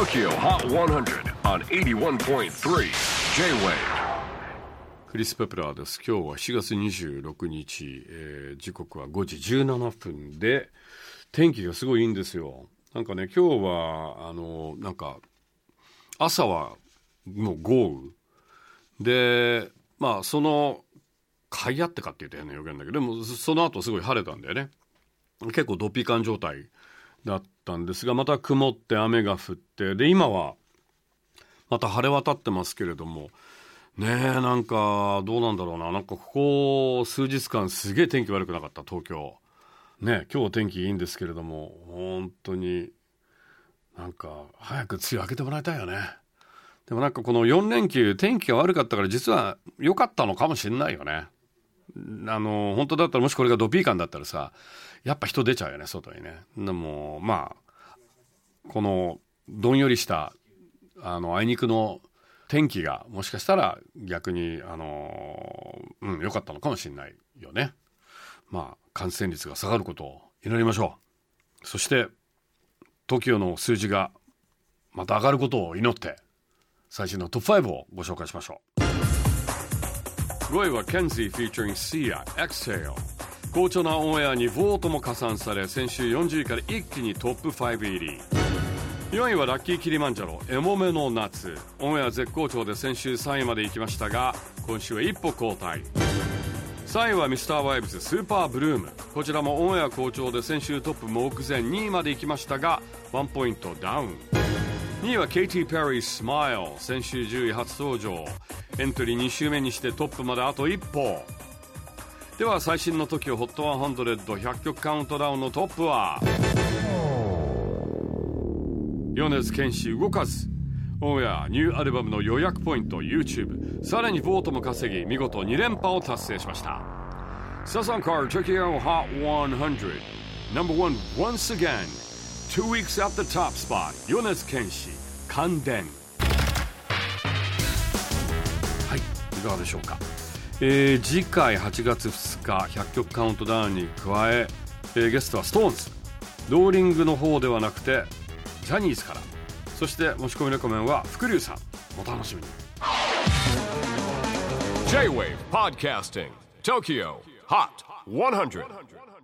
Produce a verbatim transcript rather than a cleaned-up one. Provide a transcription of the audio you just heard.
Tokyo Hot one hundred on エイティワンポイントスリー J-Wave。 クリス・ペプラーです。今日はしがつにじゅうろくにち、えー、時刻はごじじゅうななふんで、天気がすごいいいんですよ。なんかね、今日はあのなんか朝はもう豪雨で、まあそのかいあってかって言ったような予言だけど、でもその後すごい晴れたんだよね。結構ドピカン状態だったんですが、また曇って雨が降って、で今はまた晴れ渡ってますけれどもね、えなんかどうなんだろうな、なんかここ数日間すげえ天気悪くなかった？東京ね。今日天気いいんですけれども、本当になんか早く梅雨明けてもらいたいよね。でもなんかこのよんれんきゅう天気が悪かったから実は良かったのかもしれないよね。あの本当だったら、もしこれがドピーカンだったらさ、やっぱ人出ちゃうよね、外にね。でもまあこのどんよりしたあのあいにくの天気がもしかしたら逆にあのうん良かったのかもしれないよね。まあ感染率が下がることを祈りましょう。そして トキオ の数字がまた上がることを祈って最新のトップごをご紹介しましょう。ごいは Kenzie featuring Sia Exhale。 好調なオンエアにボートも加算され、先週よんじゅういから一気にトップご入り。よんいはラッキーキリマンジャロエモメの夏。オンエア絶好調で先週さんいまで行きましたが、今週は一歩後退。さんいはミスターワイブズスーパーブルーム。こちらもオンエア好調で先週トップ目前にいまで行きましたがワンポイントダウン。にいはケイティ・ペリースマイル。先週じゅうい初登場。エントリーに週目にしてトップまであと一歩。では最新の トキオ ホットひゃく、ひゃくきょくカウントダウンのトップは米津玄師動かず。オンエアニューアルバムの予約ポイント YouTube、 さらにボートも稼ぎ見事に連覇を達成しました。サザンカー Tokyo Hot ひゃく Number one once again two weeks at the top spot 米津玄師感電。はい、いかがでしょうか。えー、次回はちがつふつかひゃっきょくカウントダウンに加ええー、ゲストは ストーンズ。 ローリングの方ではなくてジャニーズから。そして持ち込みレコメンは福龍さん。お楽しみに。 J-Wave Podcasting Tokyo Hot ひゃく